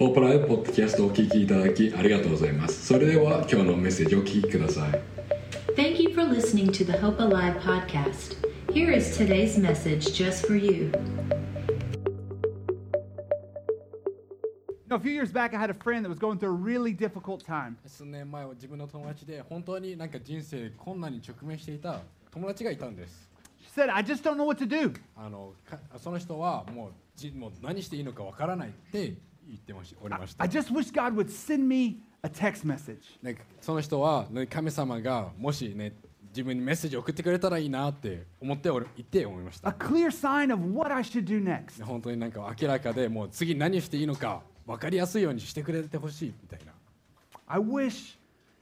ホープライブポッドキャストをお聞きいただきありがとうございます。それでは今日のメッセージをお聞きください。 Thank you for listening to the Hope Alive podcast. Here is today's message just for you. A few years back, I had a friend that was going through a really difficult time. 数年前は自分の友達で本当になんか人生困難に直面していた友達がいたんです。 She said, I just don't know what to do. その人はもう何していいのかわからないって言っておりました。 I just wish God would send me a text message. その人は、ね、神様がもしね自分にメッセージを送ってくれたらいいなって思って思いました。 A clear sign of what I should do next. 本当になんか明らかでもう次何していいのか分かりやすいようにしてくれてほしいみたいな。 I wish,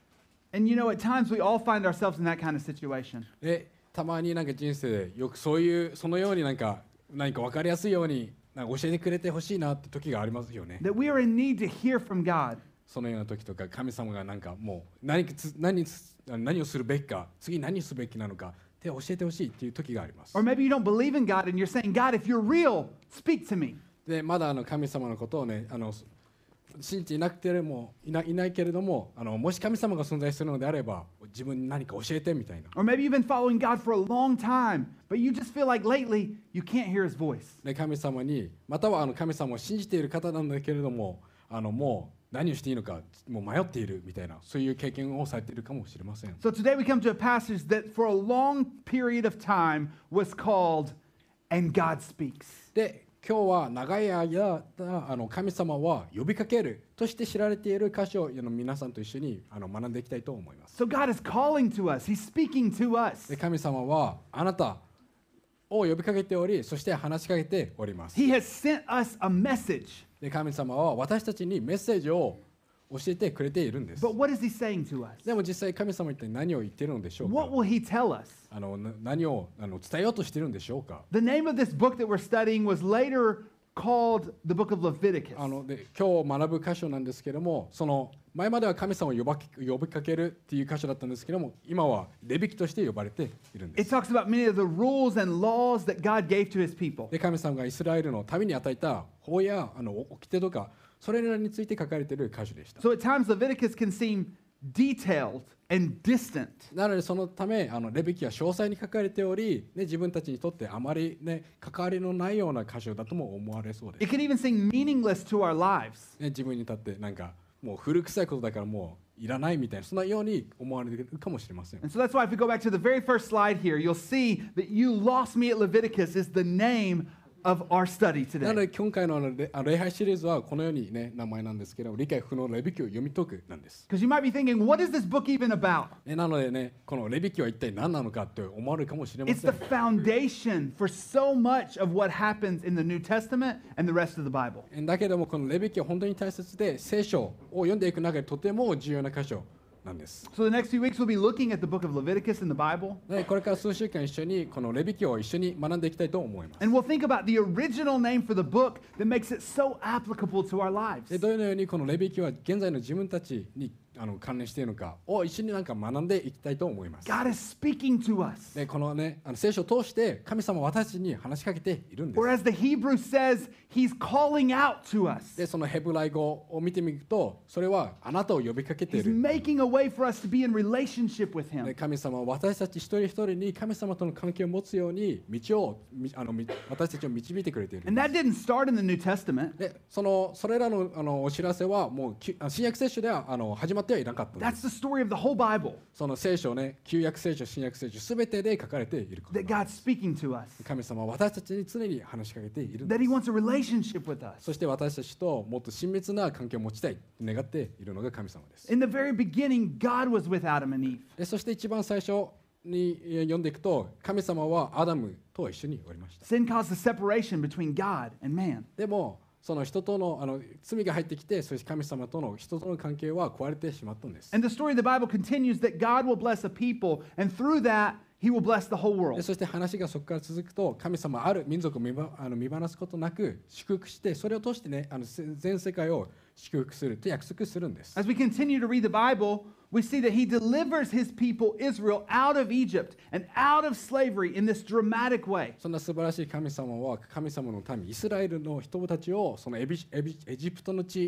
and you know, at times we all find ourselves in that kind of situation. でたまになんか人生でよくそのように何か分かりやすいようになんか教えてくれてほしいなって時がありますよね。 That we are in need to hear from God. そのような時とか神様がなんかもう何をするべきか次何すべきなのかって教えてほしいっていう時があります。 Or maybe you don't believe in God and you're saying, God, if you're real, speak to me. でまだ神様のことをね信じていなくてもいないけれどももし神様が存在するのであれば自分に何か教えてみたいな。 Or maybe you've been following God for a long time, but you just feel like lately you can't hear His voice. で神様にまたは神様を信じている方なんだけれどももう何をしていいのかもう迷っているみたいなそういう経験をされているかもしれません。 So today we come to a passage that for a long period of time was called And God Speaks. で今日は長い間神様は呼びかけるとして知られている箇所を皆さんと一緒に学んでいきたいと思います。 So God is calling to us. He's speaking to us. で神様はあなたを呼びかけており、そして話しかけております。 He has sent us a message. で神様は私たちにメッセージを教えてくれているんです。 But what is He saying to us? でも実際神様は一体何を言っているのでしょうか。 What will He tell us? 何を伝えようとしているんでしょうか。 The name of this book that we're studying was later called the book of Leviticus. で今日学ぶ箇所なんですけども、その前までは神様を呼びかけるっていう箇所だったんですけども、今はレビ記として呼ばれているんで It す。 talks about many of the rules and laws that God gave to His people. で神様がイスラエルの民に与えた法や掟とかそれらについて書かれている箇所でした。 So at times Leviticus can seem detailed and distant. なのでそのためレビ記は詳細に書かれており、ね、自分たちにとってあまり、ね、関わりのないような箇所だとも思われそうです。 It can even seem meaningless to our lives. ね、自分にとってなんかもう古臭いことだからもういらないみたいなそんなように思われるかもしれません。 And so that's why if we go back to the very first slide here, you'll see that You Lost Me at Leviticus is the name of our study なの today. で今回の礼拝シリーズはこのように、ね、名前なんですけど、理解不能のレビ記を読み解くなんです。 Because you might be thinking, what is this book even about? なのでね、このレビ記は一体何なのかって思われるかもしれま It's せん the。foundation for so much of what happens in the New Testament and the rest of the Bible. だけどもこのレビ記は本当に大切で、聖書を読んでいく中でとても重要な箇所なんです。 So the next few weeks we'll be looking at the book of Leviticus in the Bible. でこれから数週間一緒にこのレビ記を一緒に学んでいきたいと思います。 And we'll think about the original name for the book that makes it so applicable to our lives. でどのようにこのレビ記は現在の自分たちに関連しているのかを一緒に学んでいきたいと思います。 God is speaking to us. でこのね聖書を通して神様は私たちに話しかけているんです。 Or as the Hebrew says, He's calling out to us. でそのヘブライ語を見てみると、それはあなたを呼びかけてい He's る。 making a way for us to be in relationship with で Him. 神様は私たち一人一人に神様との関係を持つように私たちを導いてくれている。 And that didn't start in the New Testament. でそれらのお知らせはもう新約聖書では始まってはいなかったんで That's す。 the story of the whole Bible, その聖書ね、旧約聖書、新約聖書すべてで書かれていること。 that God's speaking to us, 神様は私たちに常に話しかけているんで that す He。wants a relationship with us. そして私たちともっと親密な関係を持ちたいと願っているのが神様です。 In the very beginning, God was with Adam and Eve. でそして一番最初に読んでいくと、神様はアダムと一緒におりました。 Sin caused the separation between God and man. でもその人との罪が入ってきて、そして神様との人との関係は壊れてしまったんです。 And the story of the Bible continues that God will bless a people, and through that, He will bless the whole で world. そして話がそこから続くと、神様はある民族を見放すことなく祝福して、それを通してね全世界を祝福すると約束するんです。 As we continue to read the Bible, we see that He delivers His people Israel out of Egypt and out of slavery in this dramatic way. そんな素晴らしい神様は神様の民イスラエルの人たちをそのエジプトの地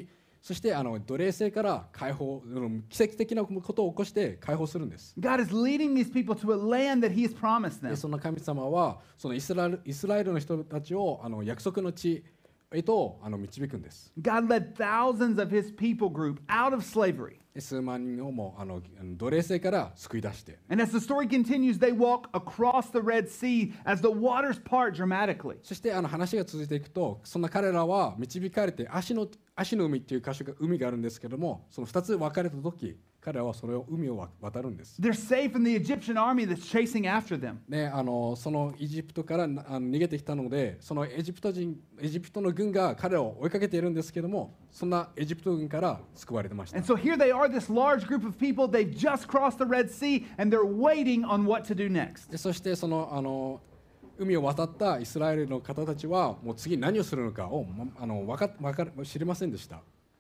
そして奴隷制から解放、奇跡的なことを起こして解放するんです。 God is leading these people to a land that He has promised で them. その神様はそのイスラエルの人たちを約束の地へと導くんです。 God led thousands of His people group out of slavery. で数万人をも奴隷制から救い出して、 And as the story continues, they walk across the Red Sea as the waters part dramatically. そして話が続いていくと、そんな彼らは導かれて足の海っていう海があるんですけども、その2つ分かれた時、彼らはそれを海を渡るんです。 They're safe from the Egyptian army that's chasing after them. ね、そのエジプトから逃げてきたので、そのエジプトの軍が彼らを追いかけているんですけども、そんなエジプト軍から救われてました。 And so here they are, this large group of people. They've just crossed the Red Sea and they're waiting on what to do next. でそしてその海を渡ったイスラエルの方たちはもう次何をするのかを知りませんでした。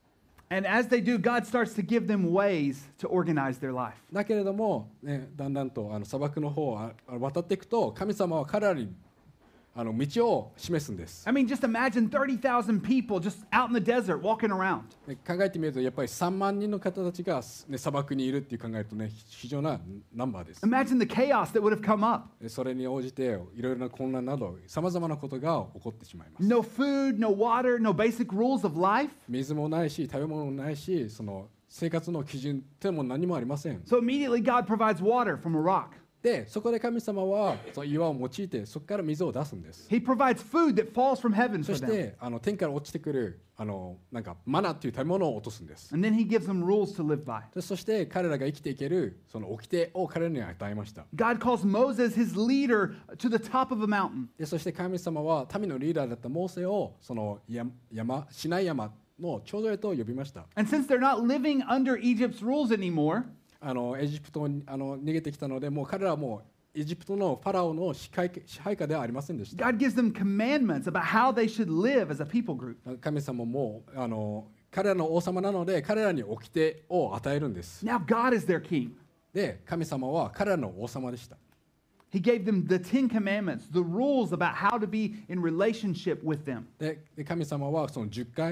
And as they do, God starts to give them ways to organize their life. だけれども、ね、だんだんと砂漠の方を渡っていくと、神様は彼らに道を示すんです。 I mean, just imagine 30,000 people just out in the desert walking around. ね、考えてみるとやっぱり3万人の方たちが、ね、砂漠にいるっていう考えるとね、非常なナンバーです。 Imagine the chaos that would have come up. でそれに応じていろいろな混乱などさまざまなことが起こってしまいます。 No food, no water, no basic rules of life. 水もないし食べ物もないし、その生活の基準っても何もありません。 So immediately God provides water from a rock. でそこで神様はその岩を用いてそこから水を出すんです。 He provides food that falls from heaven そ for し them. て天から落ちてくるなんかマナっていう食べ物を落とすんです。 And then he gives them rules to live by. でそして彼らが生きていけるその掟を彼らに与えました。 God calls Moses his leader to the top of a mountain. でそして神様は民のリーダーだったモーセをそのシナイ山の頂上へと呼びました。 And since they're not living under Egypt's rules anymore, エジプトに逃げてきたので、もう彼らはもうエジプトのファラオの支配下ではありませんでした。 God gives them commandments about how they should live as a people group. 神様も彼らの王様なので彼らに掟を与えるんです。 Now God is their king. で神様は彼らの王様でした。 He gave them the 10 commandments, the rules about how to be in relationship with them. で神様はその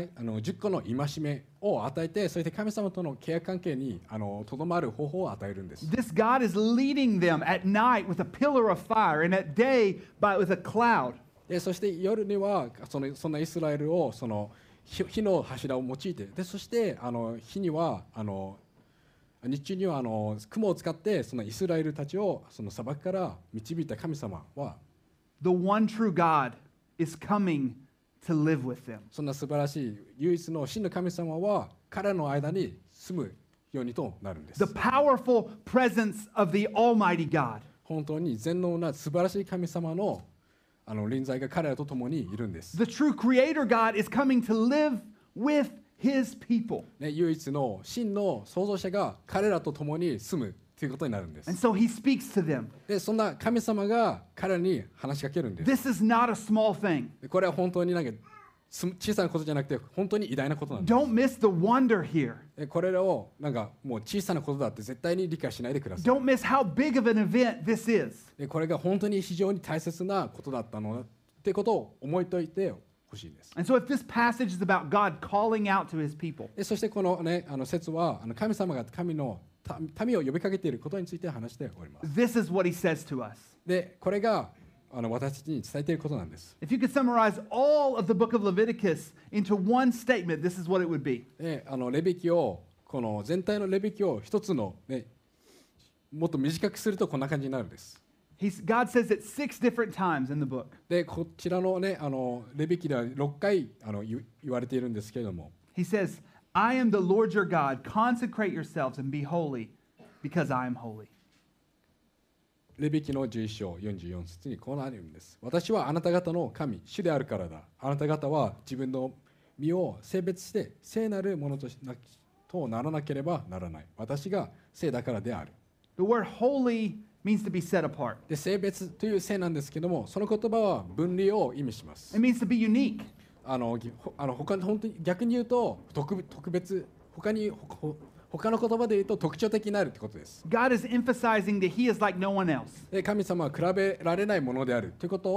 10個の戒めを与えて、そして神様との契約関係にとどまる方法を与えるんです。 This God is leading them at night with a pillar of fire and at day with a cloud. でそして夜にはそんなイスラエルをその火の柱を用いて、でそして火には日中には雲を使ってそのイスラエルたちをその砂漠から導いた神様は、 The one true God is coming to live with them. そんな素晴らしい唯一の真の神様は彼らの間に住むようにとなるんです。 The powerful presence of the Almighty God. 本当に全能な素晴らしい神様の臨在が彼らと共にいるんです。 The true Creator God is coming to live with His people. ね、唯一の真の創造者が彼らと共に住むということになるんです。 And so He speaks to them. でそんな神様が彼らに話しかけるんです。 This is not a small thing. でこれは本当に小さなことじゃなくて本当に偉大なことなんです。 Don't miss the wonder here. でこれらをもう小さなことだって絶対に理解しないでください。 Don't miss how big of an event this is. でこれが本当に非常に大切なことだったのってことを思いといてほしいです。 And so if this passage is about God calling out to His people, でそしてこの、ね、説は神様が民を呼びかけていることについて話しております。 this is what He says to us. でこれが私たちに伝えていることなんです。 If you could summarize all of the book of Leviticus into one statement, this is what it would be. でレビキをこの全体のレビキを一つの、ね、もっと短くするとこんな感じになるんです。 God says it 6 different times in the book. でこちらの、ね、レビキでは6回言われているんですけれども、 He says, I am the Lord your God. Consecrate yourselves and be holy because I am holy. レビキの11章44節にこうなるんです。私はあなた方の神、主であるからだ。あなた方は自分の身を性別して聖なるものとならなければならない。私が聖だからである。 The word holy means to be set apart. で性別という聖なんですけども、その言葉は分離を意味します。 It means to be unique. 本当に逆に言うと特別、他の言葉で言うと特徴的になるってことです。 God is emphasizing that He is like no one else. で神様は比べられないものであるということを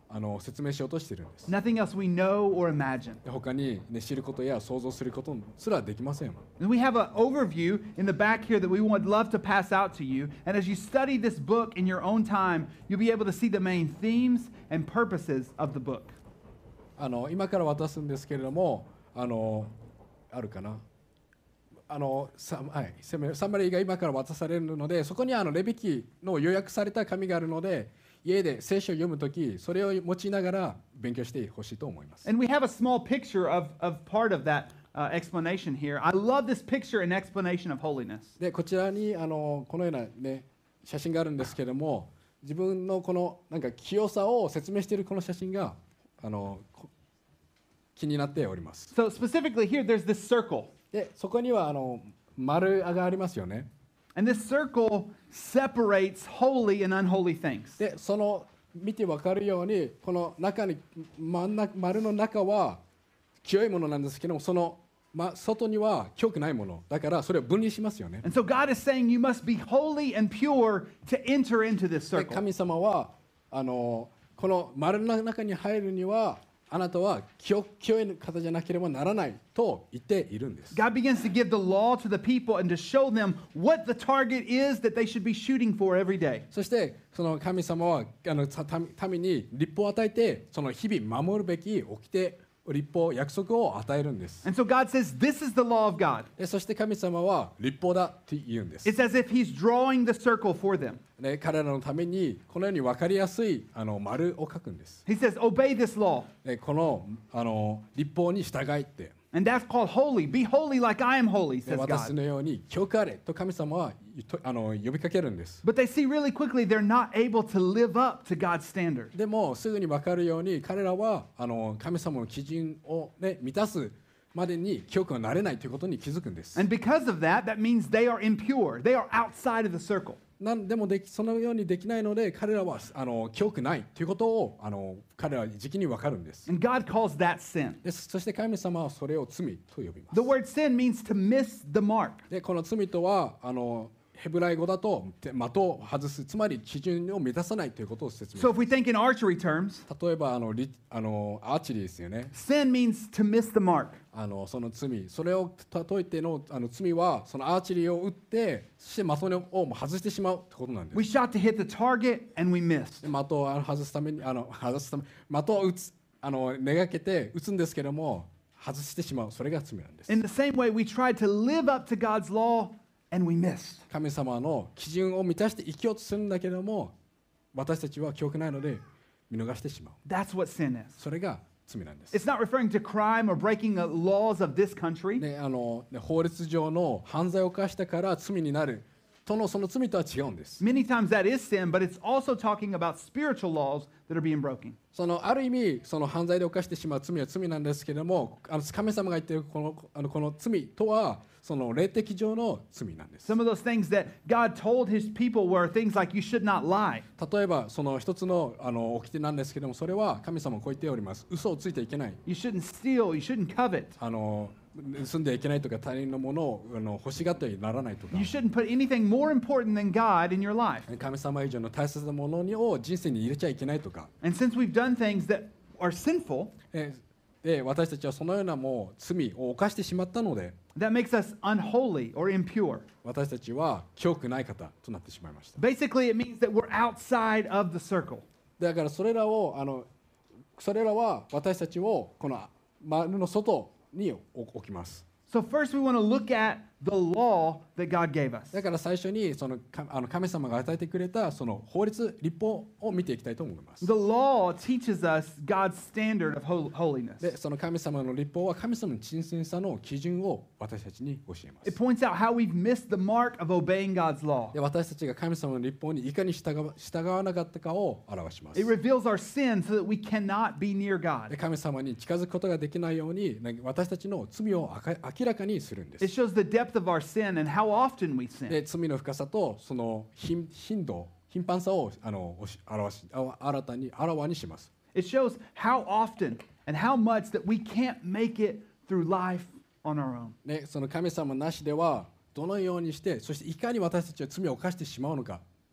説明しようとしているんです。 Nothing else we know or imagine. で他に、ね、知ることや想像することすらできません。 And we have an overview in the back here that we would love to pass out to you. And as you study this book in your own time, you'll be able to see the main themes and purposes of the book. 今から渡すんですけれども、あるかな、サマリーが今から渡されるので、そこにレビ記の予約された紙があるので、家で聖書を読むとき、それを用いながら勉強してほしいと思います。 And we have a small picture of part of that explanation here. I love this picture and explanation of holiness. でこちらにこのような、ね、写真があるんですけれども、自分のこのなんか清さを説明しているこの写真が気になっております。 So specifically here, there's this circle. でそこには丸がありますよね。 And this circle separates holy and unholy things. でその見て分かるように、この中に丸の中は清いものなんですけども、その、外には清くないものだから、それを分離しますよね。 And so God is saying you must be holy and pure to enter into this で circle. 神様はこの丸の中に入るには、あなたは清い方じゃなければならないと言っているんです。 God begins to give the law to the people and to show them what the target is that they should be shooting for every day. そしてその神様は民に律法を与えて、その日々守るべき掟、律法、約束を与えるんです。 And so God says, this is the law of God. でそして神様は律法だと言うんです。 It's as if He's drawing the circle for them. で彼らのためにこのように分かりやすい丸を書くんです。 He says, obey this law. でこの律法に従いって、 And that's called holy. Be holy like I am holy, で says 私 God. のように清くあれと神様は呼びかけるんです。 But they see really quickly they're not able to live up to God's standard. でもすぐに分かるように、彼らは神様の基準を、ね、満たすまでに清くはなれないということに気づくんです。 And because of that, that means they are impure. They are outside of the circle. でもそのようにできないので、彼らは清くないということを彼らは時期に分かるんです。 And God calls that sin. でそして神様はそれを罪と呼びます。 The word sin means to miss the mark. でこの罪とはヘブライ語だと的を外す、つまり基準を満たさないということを説明し So ます。 if we think in archery terms, 例えばアーチェリーですよね。 sin means to miss the mark. その罪、それを例えての罪は、そのアーチェリーを打ってそして的を外してしまうということなんで We す。 shot to hit the target and we missed. で的を外すために的を打つめがけて打つんですけども、外してしまう、それが罪なんです。 In the same way, we tried to live up to God's law and we missed. 神様の基準を満たして生きようとするんだけども、私たちは清くないので見逃してしまう。 That's what sin is. それが罪なんです。 It's not referring to crime or breaking the laws of this country. 法律上の犯罪を犯したから罪になるとのその罪とは違うんです。 Many times that is sin, but it's also talking about spiritual laws that are being broken. ある意味その犯罪で犯してしまう罪は罪なんですけれども、神様が言っているこの罪とはその霊的上の罪なんです。 Some of those things that God told His people were things like you should not lie. 例えばその一つの掟なんですけれども、それは神様はこう言っております。嘘をついてはいけない。 You shouldn't steal. You shouldn't covet. 盗んではいけないとか、他人のものを欲しがってはならないとか、 You shouldn't put anything more important than God in your life. 神様以上の大切なものを人生に入れちゃいけないとか、 And since we've done things that are sinful, で私たちはそのようなもう罪を犯してしまったので、 that makes us unholy or impure. 私たちは清くない方となってしまいました。 Basically, it means that we're outside of the circle. だからそれらは私たちをこの丸の外に置きます。 So first we want to look at the law that God gave us. だから最初にその神様が与えてくれたその法律、律法を見ていきたいと思います。 The law teaches us God's standard of holiness. で、その神様の律法は神様の神聖さの基準を私たちに教えま It す。 points out how we've missed the mark of obeying God's law. で、私たちが神様の律法にいかに従わなかったかを表します。 It reveals our sin so that we cannot be near で、 God. 神様に近づくことができないように私たちの罪を明らかにするんで It す。 shows the depth of our sin and how often we sin. で、罪の深さとその頻繁さをあらわにします。 It shows how often and how much that we can't make it through life on our own. ね、その神様なしではどのようにして、そしていかに私たちは罪を犯してしまうのか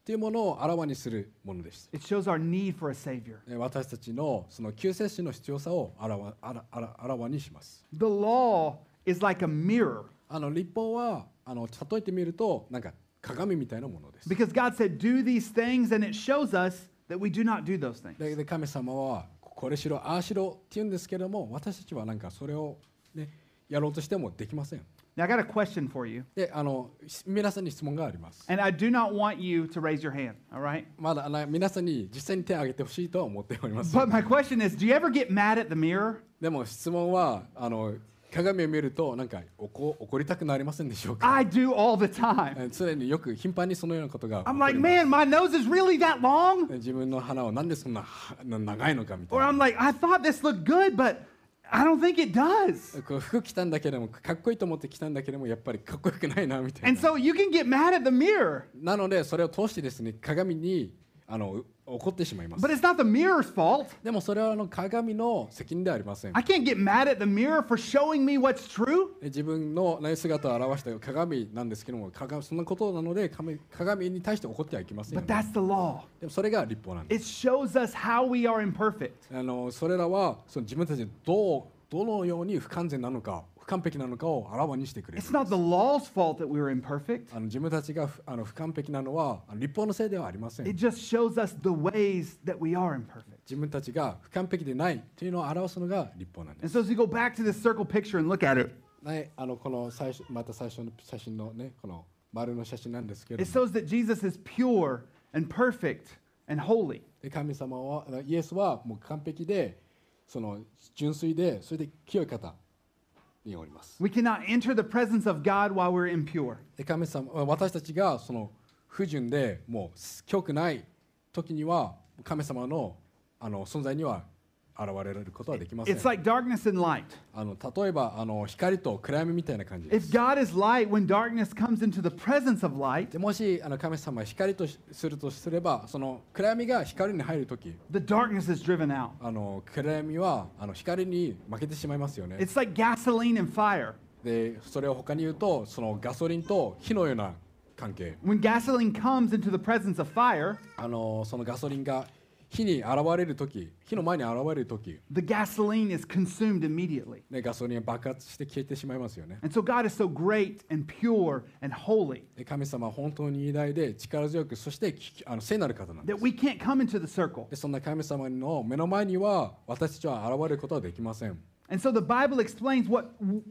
というものをあらわにするものです。 It shows our need for a Savior. 私たちのその救世主の必要さをあらわにします。 The law is like a mirror 律法は例えてみるとなんか鏡みたいなものです。 because God said, do these things, and it shows us that we do not do those things. で神様はこれしろああしろって言うんですけども、私たちはなんかそれを、ね、やろうとしてもできません。 Now, I got a question for you, で皆さんに質問があります。 and I do not want you to raise your hand, all right? まだ皆さんに実際に手を挙げてほしいとは思っております。 But my question is, do you ever get mad at the mirror? でも質問は鏡を見るとなんか怒りたくなりませんでしょうか。 I do all the time. 常によく頻繁にそのようなことが起こ I'm り like, ます。 man, my nose is really that long? 自分の鼻をなんでそんな長いのかみたい Or な。 I'm like, I thought this looked good, but I don't think it does. こう服着たんだけどもかっこいいと思って着たんだけどもやっぱりかっこよくないなみたい And な。 so you can get mad at the mirror, なのでそれを通してですね鏡に怒ってしまいます。 but it's not the mirror's fault. でもそれは鏡の責任ではありません。 I can't get mad at the mirror for showing me what's true. 自分の姿を表した鏡なんですけどもそんなことなので鏡に対して怒ってはいけませんよ But ね。 that's the law. でもそれが律法なんです。 It shows us how we are imperfect. それらはその自分たちでどのように不完全なのか不完璧なのかをあらわにしてくれる。 It's not the law's fault that we were imperfect. 自分たちが不完璧なのは律法のせいではありません。 It just shows us the ways that we are imperfect. 自分たちが不完璧でないというのを表すのが律法なんで And す。 so as we go back to this circle picture and look at it, ね、この最初の写真のねこの丸の写真なんですけれ it ども、 shows that Jesus is pure and perfect and holy. で神様はイエスはもう完璧でその純粋でそれで清い方におります。 We cannot enter the presence of God while we're impure. で神様私たちがその不純でもう清くない時には神様の存在には現れることはできません。 It's like darkness and light. 例えば光と暗闇みたいな感じで If す。 God is light, when darkness comes into the presence of light, でもし神様は光とするとすればその暗闇が光に入るとき the darkness is driven out. 暗闇は光に負けてしまいますよね。 It's like gasoline and fire. でそれを他に言うとそのガソリンと火のような関係。 When gasoline comes into the presence of fire, そのガソリンが火に現れるとき火の前に現れるとき、 the gasoline is consumed immediately. ね、ガソリンは爆発して消えてしまいますよね。 And so God is so great and pure and holy で神様は本当に偉大で力強くそして聖なる方なんで that す。 we can't come into the circle. でそんな神様の目の前には私たちは現れることはできません。 And so the Bible explains what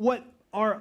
our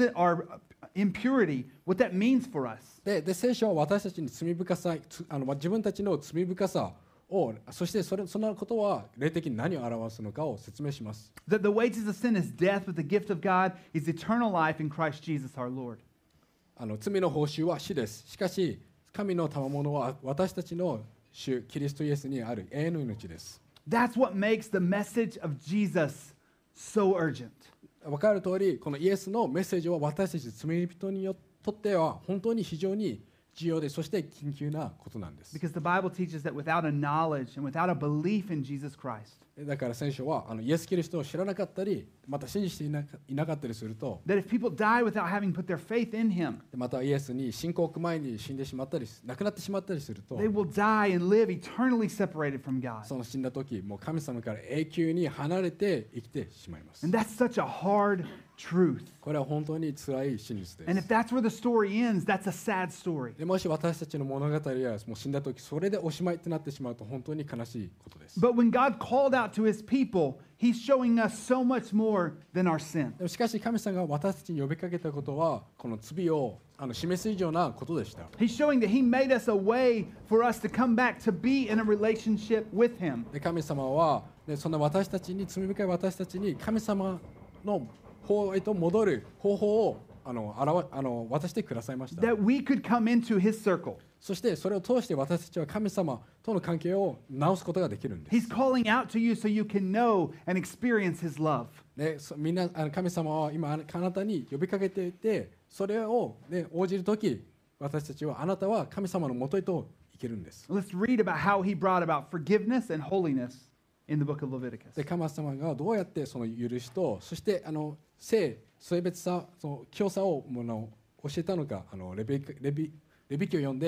impurity, what that means for us. で聖書は私たちに罪深さ自分たちの罪深さをそしてそんなことは霊的に何を表すのかを説明します。 That the wages of sin is death, but the gift of God is eternal life in Christ Jesus our Lord. 罪の報酬は死です。しかし神の賜物は私たちの主キリストイエスにある永遠の命です。 That's what makes the message of Jesus so urgent. 分かる通りこのイエスのメッセージは私たち罪人にとっては本当に非常に重要でそして緊急なことなんです。 Because the Bible teaches that without a knowledge and without a belief in Jesus Christ, だから聖書はイエス・キリストを知らなかったりまた信じていなかったりすると that if people die without having put their faith in Him, またイエスに信仰前に死んでしまったり亡くなってしまったりすると they will die and live eternally separated from God. その死んだ時もう神様から永久に離れて生きてしまいます。 And that's such a hard truth. これは本当に辛い真実で And if す。 that's where the story ends, that's a sad story. でもし私たちの物語やもう死んだ時それでおしまいってなってしまうと本当に悲しいことです。 But when God called out to His people, He's showing us so much more than our sin. でもしかし神様が私たちに呼びかけたことはこの罪を示す以上なことでした。 He's showing that He made us a way for us to come back to be in a relationship with Him. で神様はそんな私たちに罪深い私たちに神様の方へと戻る方法を渡してくださいました。 That we could come into His circle. そしてそれを通して私たちは神様との関係を直すことができるんです。 He's calling out to you so you can know and experience His love. でみんな神様は今あなたに呼びかけていてそれを、応じるとき私たちはあなたは神様のもとへと行けるんです。 Let's read about how He brought about forgiveness and holiness in the book of Leviticus. で神様がどうやってその許しとそして性別さその清さを教えたのかレビ記を読んで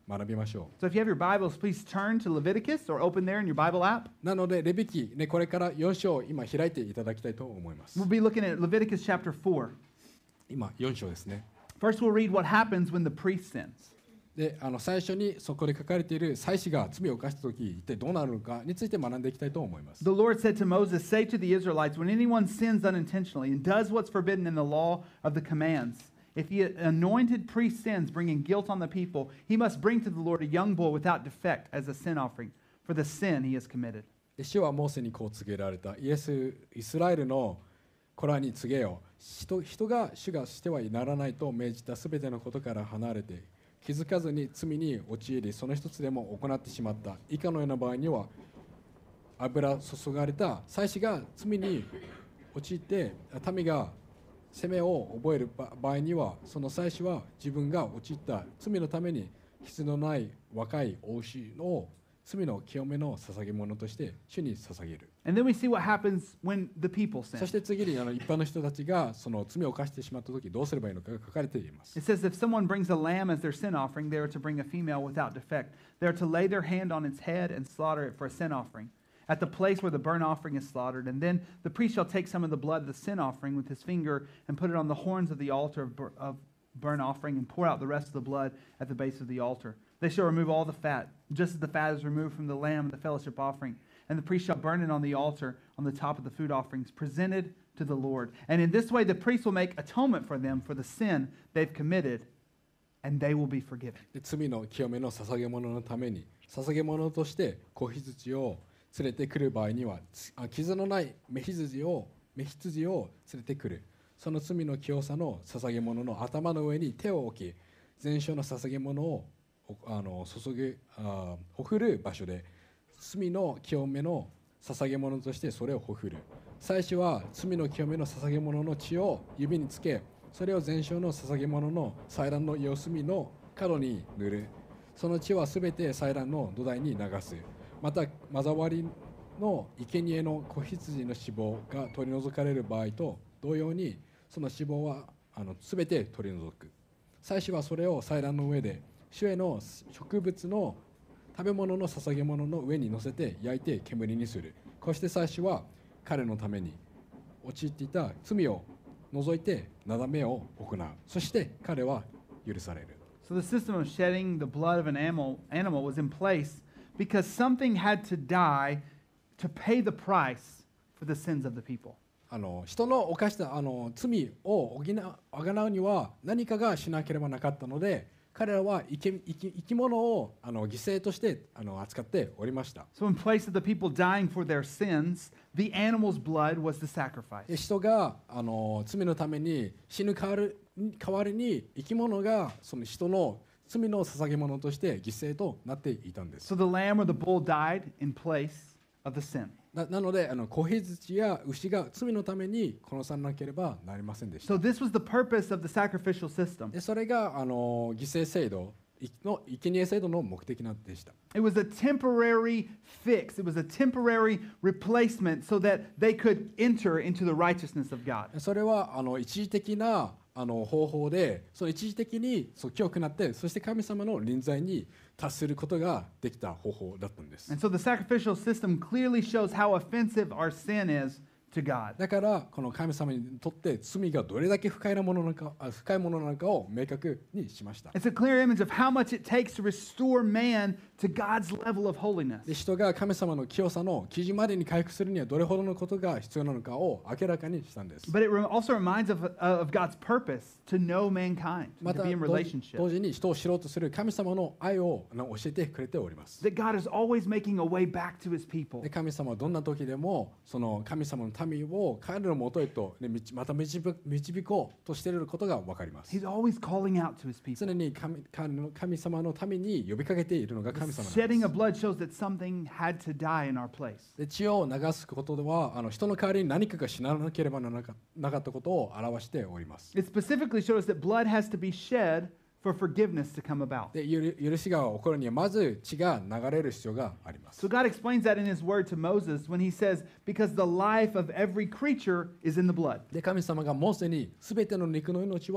学びましょ So if you have your Bibles, please turn to Leviticus or open there in your Bible app. う。なのでレビ記、ね、これから4章今開いていただきたいと思います。 We'll be looking at Leviticus chapter 4. 今4章ですね。 First, we'll read what happens when the priest sins. で最初にそこで書かれている祭司が罪を犯したとき一体どうなるのかについて学んでいきたいと思います。 The Lord said to Moses, "Say to the Israelites, when anyone sins unintentionally and does what's forbidden in the law of the commands, if the anointed priest sins, bringing guilt on the people, he must bring to the Lord a young bull without defect as a sin offering for the sin he has committed." で主はモーセにこう告げられた。イスラエルの子らに告げよ。人が主がしてはならないと命じたすべてのことから離れて気づかずに罪に陥りその一つでも行ってしまった以下のような場合には油注がれた祭司が罪に陥って民が責めを覚える場合にはその祭司は自分が陥った罪のために必要のない若い子牛を罪の清めの捧げ物として主に捧げる。 And then we see what happens when the people そ sin. して次に一般の人たちがその罪を犯してしまった時どうすればいいのかが書かれています。 It says if someone brings a lamb as their sin offering, they are to bring a female without defect. They are to lay their hand on its head and slaughter it for a sin offering at the place where the burnt offering is slaughtered. And then the priest shall take some of the blood of the sin offering with his finger and put it on the horns of the altar of burnt offering and pour out the rest of the blood at the base of the altar. They shall remove all the fat, just as the fat is removed from the lamb of the fellowship offering. And the priest shall burn it on the altar on the top of the food offerings presented to the Lord. And in this way the priest will make atonement for them for the sin they've committed, and they will be forgiven. で罪の清めの捧げ物のために捧げ物として子羊を連れてくる場合には傷のない目羊を連れてくる。その罪の清さの捧げ物の頭の上に手を置き全焼の捧げ物をほふる場所で罪の清めの捧げ物としてそれをほふる。祭司は罪の清めの捧げ物の血を指につけそれを全焼の捧げ物の祭壇の四隅の角に塗る。その血はすべて祭壇の土台に流す。また混ざわりの生贄の子羊の脂肪が取り除かれる場合と同様にその脂肪はすべて取り除く。祭司はそれを祭壇の上で主への植物の食べ物の捧げ物の上に乗せて焼いて煙にする。こうして祭司は彼のために陥っていた罪を除いてなだめを行う。そして彼は許される。 So the system of shedding the blood of an animal was in place because something had to die to pay the price for the sins of the people. 人の犯した罪をあがなうには何かがしなければなかったので彼らは生き物を犠牲として扱っておりました。 So in place of the people dying for their sins, the animal's blood was the sacrifice. 人が罪のために死ぬ代わりに生き物がその人の罪の捧げ物として犠牲となっていたんです。 So the lamb or the bull died in place of the sin. なので子羊や牛が罪のために殺さなければなりませんでした。 So this was the purpose of the sacrificial system. でそれが犠牲制度の生贄制度の目的なんでした。 It was a temporary fix. It was a temporary replacement so that they could enter into the righteousness of God. それは一時的な方法でその一時的に清くなってそして神様の臨在に達することができた方法だったんです。 And so the sacrificial system clearly shows how offensive our sin is to God. だからこの神様にとって罪がどれだけ不快なものなのかを明確にしました。 It's a clear image of how much it takes to restore man to God's level of holiness. で人が神様の清さの基準までに回復するにはどれほどのことが必要なのかを明らかにしたんです。 But it also reminds of God's purpose to know mankind, ま to た be in 同 relationship. 時に人を知ろうとする神様の愛を教えてくれております。 That God is always making a way back to his people. で神様はどんな時でもその神様の民を彼のもとへと、ね、また導こうとしていることが分かります。 He's always calling out to his people. 常に神様のために呼びかけているのが神 The 様なん shedding で of blood shows that something had to die in our place. す。で血を流すことでは人の代わりに何かが死ななければならなかったことを表しております。 It specifically shows that blood has to be shed for forgiveness to come about. で許しが起こるにはまず血が流れる必要があります。 So God explains that in his word to Moses when he says, because the life of every creature is in the blood. で神様がモーセに全ての肉の命は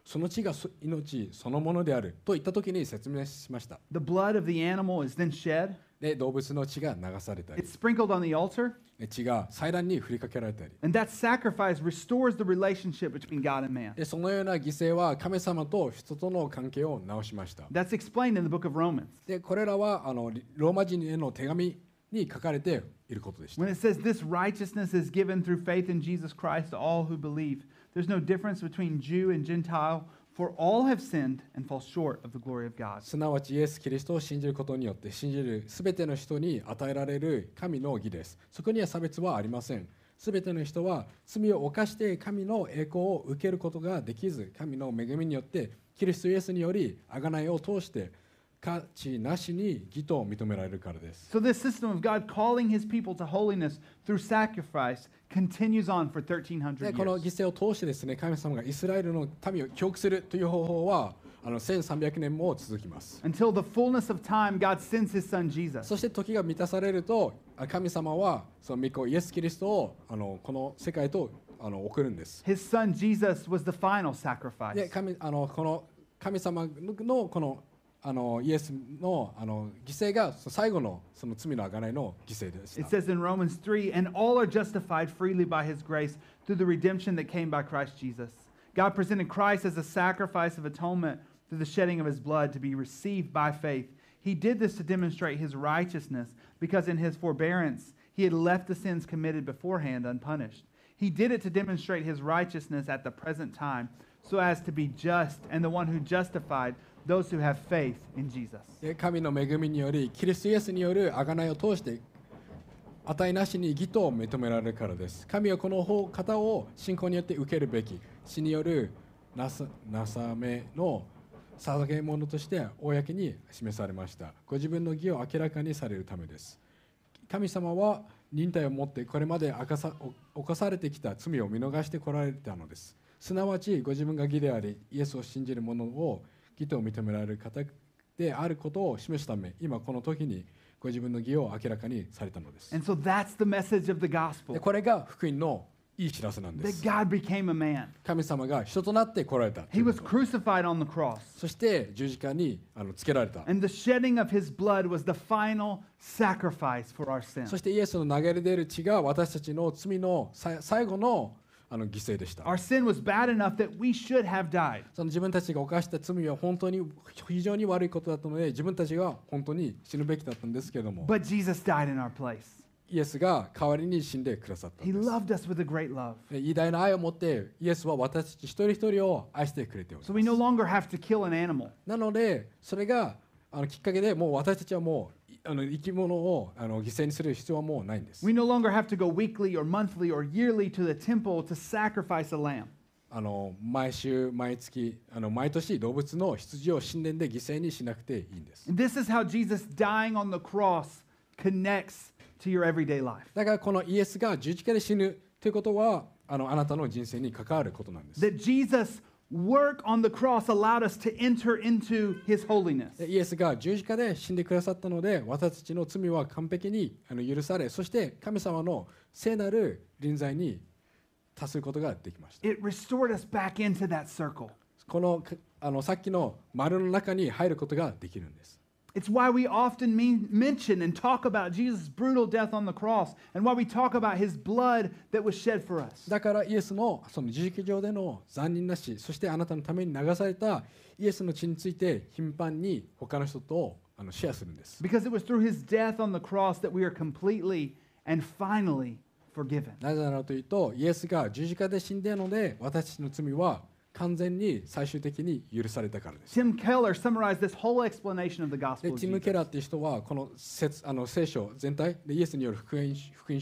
その血が命そのものであるといった時に説明しました。 The blood of the animal is then shed. で動物の血が流されたり It's sprinkled on the altar. 血が祭壇に振りかけられたり And that sacrifice restores the relationship between God and man. でそのような犠牲は神様と人との関係を直しました。 That's explained in the book of Romans. でこれらはローマ人への手紙に書かれていることでした。 When it says this righteousness is given through faith in Jesus Christ to all who believe, there's no difference between Jew and Gentile, for all have sinned and fall short of the glory of God. すなわちイエス・キリストを信じることによって信じるすべての人に与えられる神の義です。そこには差別はありません。すべての人は罪を犯して神の栄光を受けることができず、神の恵みによってキリストイエスにより贖いを通して価値なしに義と認められるからです。 So this system of God calling his people to holiness through sacrifice continues on for 1300 でこの years. 犠牲を通してですね、神様がイスラエルの民を記憶するという方法は1300年も続きます。 Until the fullness of time, God sends his son Jesus. そして時が満たされると神様はその御子イエス・キリストをこの世界と送るんです。 His son Jesus was the final sacrifice. でこの神様のこのイエスの犠牲が最後のその罪の贖いの犠牲でし It た。 says in Romans 3, and all are justified freely by his grace through the redemption that came by Christ Jesus. God presented Christ as a sacrifice of atonement through the shedding of his blood to be received by faith. He did this to demonstrate his righteousness because in his forbearance he had left the sins committed beforehand unpunished. He did it to demonstrate his righteousness at the present time so as to be just and the one who justified those who have faith in Jesus. で神の恵みによりキリストイエスによる贖いを通して値なしに義と認められるからです。神はこの方を信仰によって受けるべき死によるなさめの捧げ物として公に示されました。ご自分の義を明らかにされるためです。神様は忍耐を持ってこれまで犯されてきた罪を見逃してこられたのです。すなわちご自分が義でありイエスを信じる者を義と認められる方であることを示すため、今この時にご自分の義を明らかにされたのです。 And so that's the message of the で gospel, これが福音のいい知らせなんで that す。 God became a man. 神様が人となって来られた。 He was crucified on the cross. そして十字架につけられた。 And the shedding of his blood was the final sacrifice for our sin. そしてイエスの流れ出る血が私たちの罪の最後の犠牲でした。 Our sin was bad enough that we should have died. その自分たちが犯した罪は本当に非常に悪いことだったので、自分たちが本当に死ぬべきだったんですけれども、 But Jesus died in our place. イエスが代わりに死んでくださったん He です。 loved us with a great love. で偉大な愛を持ってイエスは私たち一人一人を愛してくれており So ま we no す。 longer have to kill an animal. なのでそれがきっかけでもう私たちはもう生き物を犠牲にする必要はもうないんです。 We no longer have to go weekly or monthly or yearly to the temple to sacrifice a lamb. 毎週毎月毎年動物の羊を神殿で犠牲にしなくていいんです。 And this is how Jesus dying on the cross connects to your everyday life. だからこのイエスが十字架で死ぬということはあなたの人生に関わることなんです。 That Jesus' work on the cross allowed us to enter into his holiness. でイエスが十字架で死んでくださったので私たちの罪は完璧に許され、そして神様の聖なる臨在に達することができました。 It restored us back into that circle. このさっきの丸の中に入ることができるんです。 It's why we often mention and talk about Jesus' brutal death on the cross and why we talk about his blood that was shed for us. だからイエスのその十字架上での残忍な死、そしてあなたのために流されたイエスの血について頻繁に他の人とシェアするんです。 Because it was through his death on the cross that we are completely and finally forgiven. なぜならというと、イエスが十字架で死んでいるので私たちの罪は完全に最終的に許されたからです。 Tim Keller summarized this whole explanation of the で gospel of ティム・ Jesus. ケラーっていう人はこの聖書全体でイエスによる福音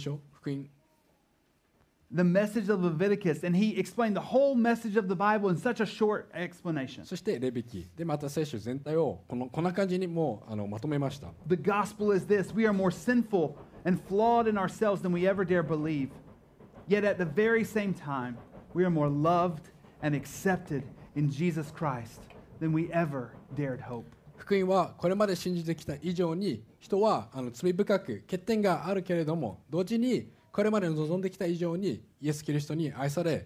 The message of Leviticus, and he explained the whole message of the Bible in such a short explanation. そしてレビキでまた聖書全体をこんな感じにもうまとめました。 The gospel is this: we are more sinful and flawed in ourselves than we ever dare believe. Yet at the very same time, we are more loved and accepted in Jesus Christ than we ever dared hope. 福音はこれまで信じてきた以上に人は罪深く欠点があるけれども、同時にこれまで望んできた以上にイエス・キリストに愛され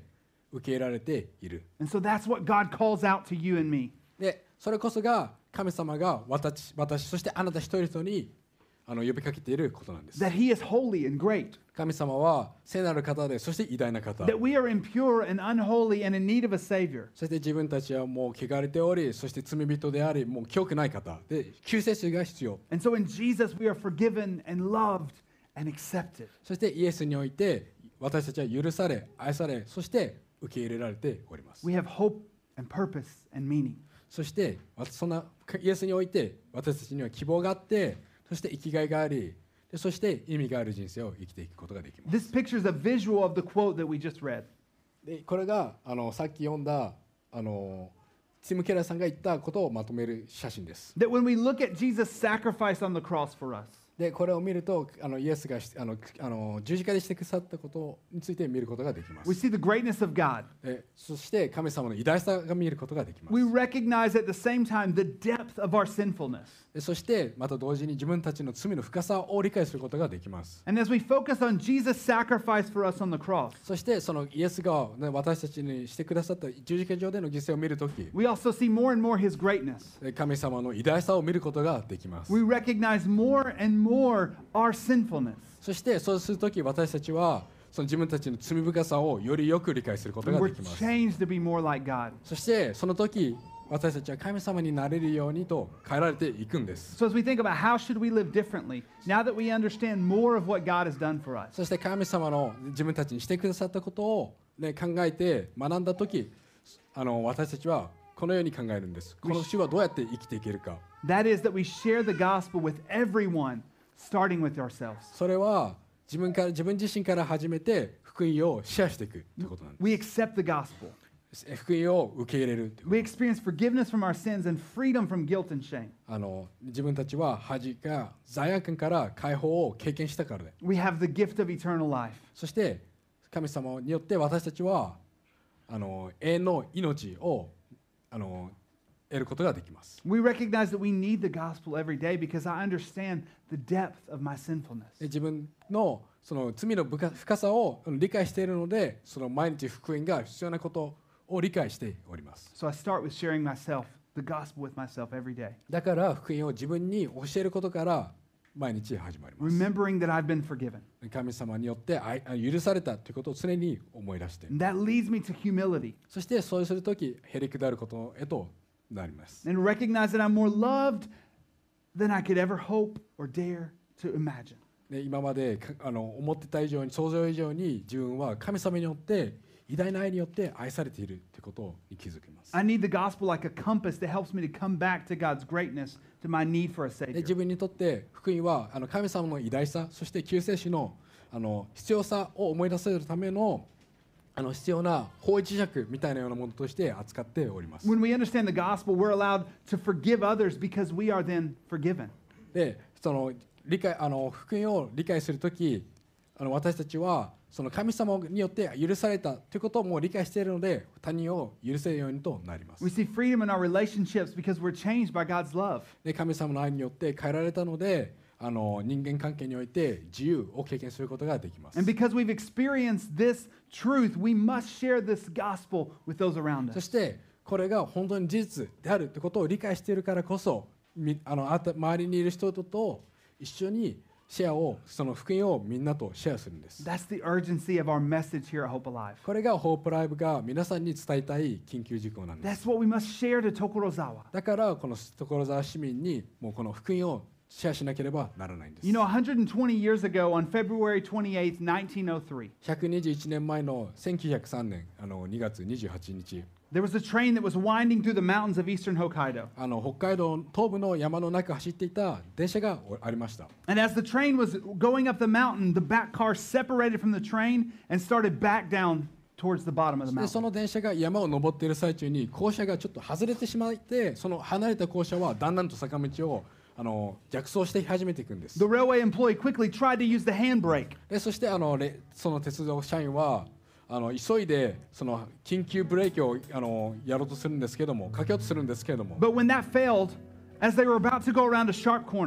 受け入れられている。 And so that's what God calls out to you and me. でそれこそが神様が私そしてあなた一人一人に呼びかけていることなんです。 That He is holy and great. 神様は聖なる方で、そして偉大な方。 That we are impure and unholy and in need of a Savior. そして自分たちはもう汚れており、そして罪人であり、もう清くない方で、救世主が必要。 And so in Jesus we are forgiven and loved and accepted. そしてイエスにおいて私たちは許され、愛され、そして受け入れられております。 We have hope and purpose and meaning. そしてそんなイエスにおいて私たちには希望があって、そして生きがいがあり、でそして意味がある人生を生きていくことができます。 This picture is a visual of the quote that we just read. でこれがさっき読んだティム・ケラーさんが言ったことをまとめる写真です。 That when we look at Jesus' sacrifice on the cross for us, でこれを見るとイエスが十字架でしてくださったことについて見ることができま we す。 see the greatness of God. でそして神様の偉大さが見ることができます。 We recognize at the same time the depth of our sinfulness. でそしてまた同時に自分たちの罪の深さを理解することができます。 And as we focus on Jesus' sacrifice for us on the cross, そしてそのイエスが、ね、私たちにしてくださった十字架上での犠牲を見るとき、 we also see more and more His greatness. 神様の偉大さを見ることができます。 We recognize more and more our sinfulness. そしてそうするとき私たちはその自分たちの罪深さをよりよく理解すること And が we're できます。 changed to be more like God. そしてその時私たちは神様になれるようにと変えられていくんです。 So as we think about how should we live differently, now that we understand more of what God has done for us, そして神様の自分たちにしてくださったことを、ね、考えて学んだ時私たちはこのように考えるんです。この主はどうやって生きていけるか。 that is that we share the gospel with everyone, starting with ourselves. それは自分自身から始めて福音をシェアしていくということなんで We accept the gospel. す。福音を受け入れるというこ We experience forgiveness from our sins and freedom from guilt and shame. と。自分たちは恥か罪悪感から解放を経験したからで、 We have the gift of eternal life. そして神様によって私たちは永遠の命を得ることができます。 We recognize that we need the gospel every day because I understand the depth of my sinfulness. で自分のその罪の深さを理解しているので、その毎日福音が必要なことを理解しております。 So I start with sharing myself, the gospel with myself every day. だから福音を自分に教えることから毎日始まります。 Remembering that I've been forgiven. 神様によって許されたということを常に思い出して、 And that leads me to humility そしてそうするときへりくだることへとなります。 and recognize that I'm more loved than I could ever hope or dare to imagine. で今まで思ってた以上に想像以上に自分は神様によって偉大な愛によって愛されているということに気づきます。 I need the gospel like a compass that helps me to come back to God's greatness, to my need for a で Savior. 自分にとって福音は神様の偉大さ、そして救世主の必要さを思い出せるための必要な方位磁石みたいなようなものとして扱っております。 When we understand the gospel, we're allowed to forgive others because we are then forgiven. でその福音を理解するとき私たちはその神様によって許されたということをもう理解しているので、他人を許せるようにとなります。 We see freedom in our relationships because we're changed by God's love. で神様の愛によって変えられたので人間関係において自由を経験することができます。 And because we've experienced this truth, we must share this gospel with those around そ us. してこれが本当に事実であるということを理解しているからこそ周りにいる人と一緒にその福音をみんなとシェアするんです。 That's the urgency of our message here at Hope Alive. これがホープライブが皆さんに伝えたい緊急事項なんです。 That's what we must share to Tokorozawa. だからこの所沢市民にもうこの福音をシェアしなければならないんです。 You know, 120 years ago, on February 28th, 1903, 121年前の1903年2月28日、 there was a train that was winding through the mountains of eastern Hokkaido. 北海道東部の山の中を走っていた電車がありました。 And as the train was going up the mountain, the back car separated from the train and started back down towards the bottom of the でそ mountain. の電車が山を登っている最中に校舎がちょっと外れてしまって、その離れた校舎はだんだんと坂道を逆走して始めていくんです。 The railway employee quickly tried to use the handbrake. でそしてその鉄道社員は急いでその緊急ブレーキをやろうとするんですけども、かけようとするんですけども、 But when that failed, as they were about to go around a sharp corner,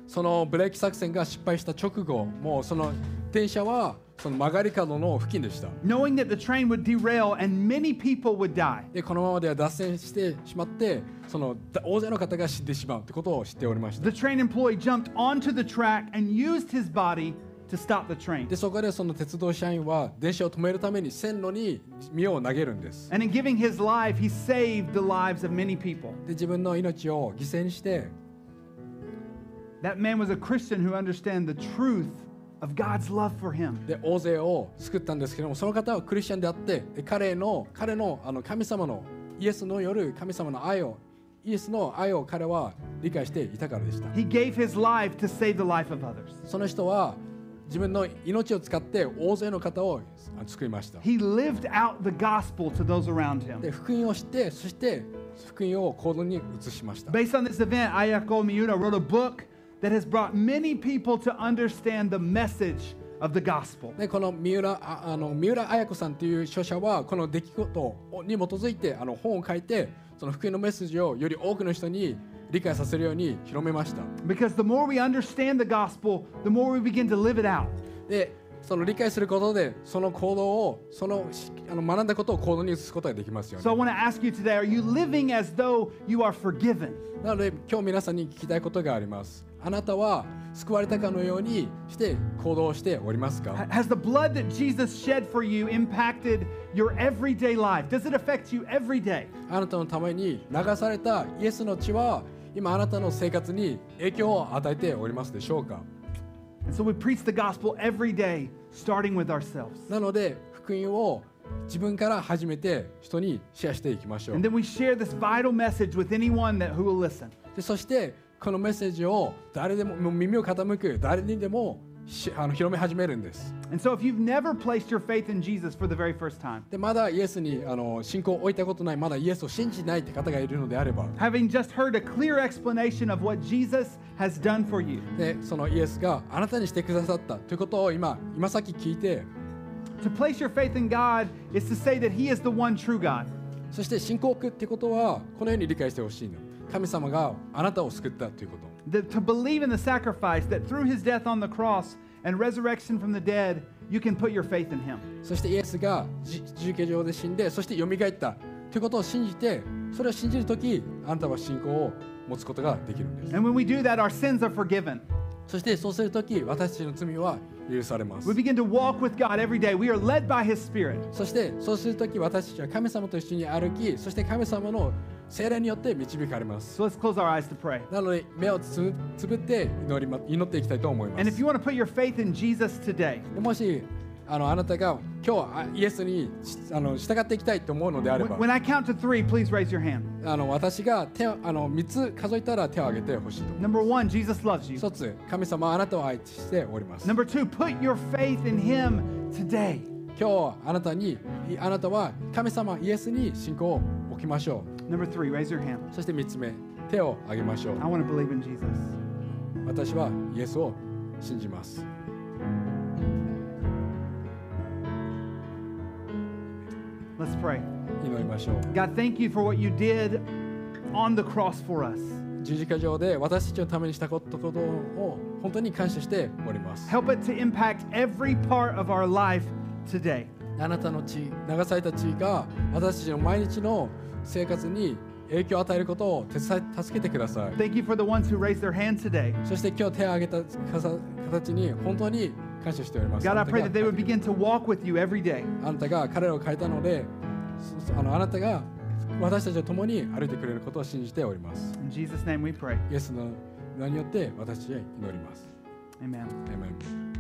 そのブレーキ作戦が失敗した直後、もうその電車はその曲がり角の付近でした。 knowing that the train would derail and many people would die. でこのままでは脱線してしまって、その大勢の方が死んでしまうということを知っておりました。 The train employee jumped onto the track and used his body to stop the train. でそこでその鉄道社員は電車を止めるために線路に身を投げるんです。 And in giving his life, he saved the lives of many people. で自分の命を犠牲にして、 That man was a Christian who understood the truth of God's love for him. で大勢を救ったんですけども、その方はクリスチャンであって、で彼の神様のイエスのよる神様の愛を、イエスの愛を彼は理解していたからでした。 He gave his life to save the life of others. その人は自分の命を使って大勢の方を救いました。 He lived out the gospel to those around him. で福音を知って、そして福音を行動に移しました。 Based on this event, Ayako Miyuna wrote a book that has brought many people to understand the message of the gospel. でこの三浦綾子さんという著者はこの出来事に基づいて本を書いて、その福音のメッセージをより多くの人に理解させるように広めました。 Because the more we understand the gospel, the more we begin to live it out. でその理解することでその行動を学んだことを行動に移すことができますよ So I ね。 want to ask you today, are you living as though you are forgiven? なので今日皆さんに聞きたいことがあります。あなたは救われたかのようにして行動しておりますか？ Has the blood that Jesus shed for you impacted your everyday life? Does it affect you every day? あなたのために流されたイエスの血は今あなたの生活に影響を与えておりますでしょうか？ And so we preach the gospel every day, starting with ourselves. なので福音を自分から始めて人にシェアしていきましょう。 And then we share this vital message with anyone who will listen. でそしてこのメッセージを誰でも耳を傾く誰にでも広め始めるんです。 And so if you've never placed your faith in Jesus for the very first time, でまだイエスに信仰を置いたことない、まだイエスを信じないって方がいるのであれば、 having just heard a clear explanation of what Jesus has done for you, でそのイエスがあなたにしてくださったということを今さっき聞いて、 to place your faith in God is to say that He is the one true God. そして信仰を置くってことはこのように理解してほしいの。神様があなたを救ったということ。 To believe in the sacrifice that through His death on the cross and resurrection from the dead, you can put your faith in Him. そしてイエスが十字架上で死んで、そして蘇ったということを信じて、それを信じるとき、あなたは信仰を持つことができるんです。 And when we do that, our sins are forgiven. そしてそうするとき、私たちの罪は許されます。 We begin to walk with God every day. We are led by His Spirit. そしてそうするとき、私たちは神様と一緒に歩き、そして神様の聖霊によって導かれます。 So let's close our eyes to pray. なので目をつぶって祈っていきたいと思いま And if す。 you want to put your faith in Jesus today, でもしあなたが今日イエスに従っていきたいと思うのであれば、 when I count to 3, please raise your hand. 私が3つ数えたら手を挙げてほしいと思います。 Number 1, Jesus loves you. 一つ、神様はあなたを愛しております。 Number 2, put your faith in Him today. 今日あなたは神様イエスに信仰を置きましょ Number 3, raise your hand. う。そして3つ目、手を挙げましょう。 I want to believe in Jesus. 私はイエスを信じます。 Let's pray. 祈りましょう。 God, thank you for what you did on the cross for us. 十字架上で私たちのためにしたことを本当に感謝しております。 Help it to impact every part of our life today. あなたの血、流された血が私たちの毎日の生活に影響を与えることを助けてください。 Thank you for the ones who raised their hand today. そして今日手を挙げた形に本当に感謝しております。 God, I pray that they would begin to walk with you every day. あなたが彼らを変えたので、あなたが私たちと共に歩いてくれることを信じております。 In Jesus' name we pray. イエスの名によって私たちは祈ります。 Amen. アーメン。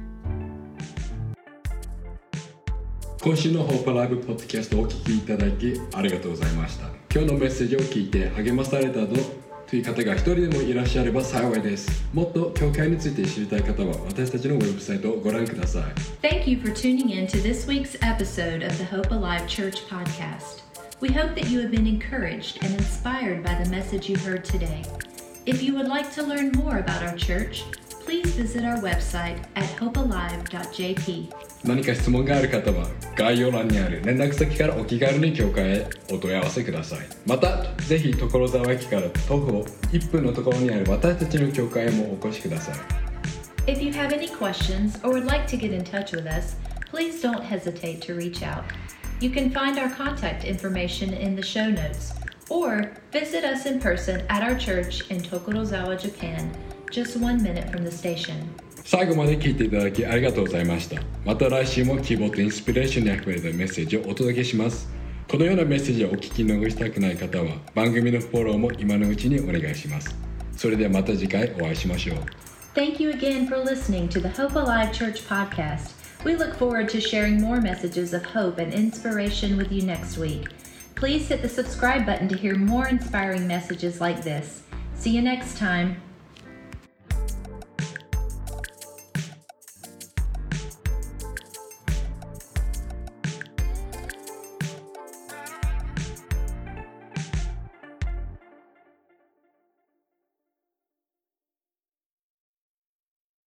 今週のホープライブポッドキャストをお聞きいただきありがとうございました。今日のメッセージを聞いて励まされたという方が一人でもいらっしゃれば幸いです。もっと教会について知りたい方は私たちのウェブサイトをご覧ください。 Thank you for tuning in to this week's episode of the Hope Alive Church podcast. We hope that you have been encouraged and inspired by the message you heard today. If you would like to learn more about our church, please visit our website at hopealive.jp. 何か質問がある方は概要欄にある連絡先からお気軽に教会へお問い合わせください。またぜひ所沢駅から徒歩1分のところにある私たちの教会へもお越しください。 If you have any questions or would like to get in touch with us, please don't hesitate to reach out. You can find our contact information in the show notes, or visit us in person at our church in Tokorozawa, Japan, just 1 minute from the station. 最後まで聞いていただきありがとうございました。また来週も希望とインスピレーションにあふれたメッセージをお届けします。このようなメッセージをお聞き逃したくない方は番組のフォローも今のうちにお願いします。それではまた次回お会いしましょう。 Thank you again for listening to the Hope Alive Church podcast. We look forward to sharing more messages of hope and inspiration with you next week. Please hit the subscribe button to hear more inspiring messages like this. See you next time.